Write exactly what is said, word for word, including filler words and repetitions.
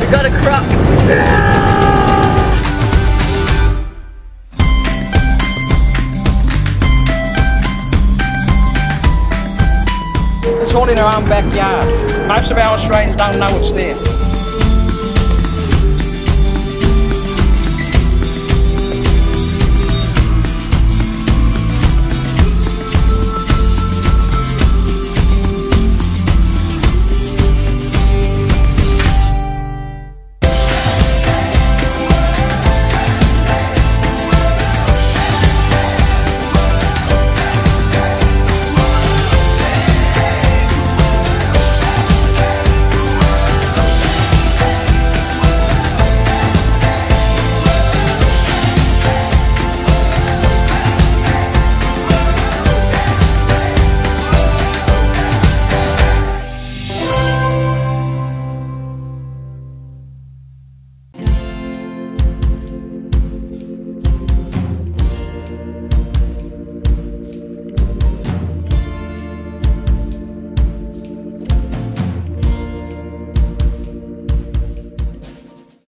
I got a croc. It's all in our own backyard. Most of our Australians don't know it's there.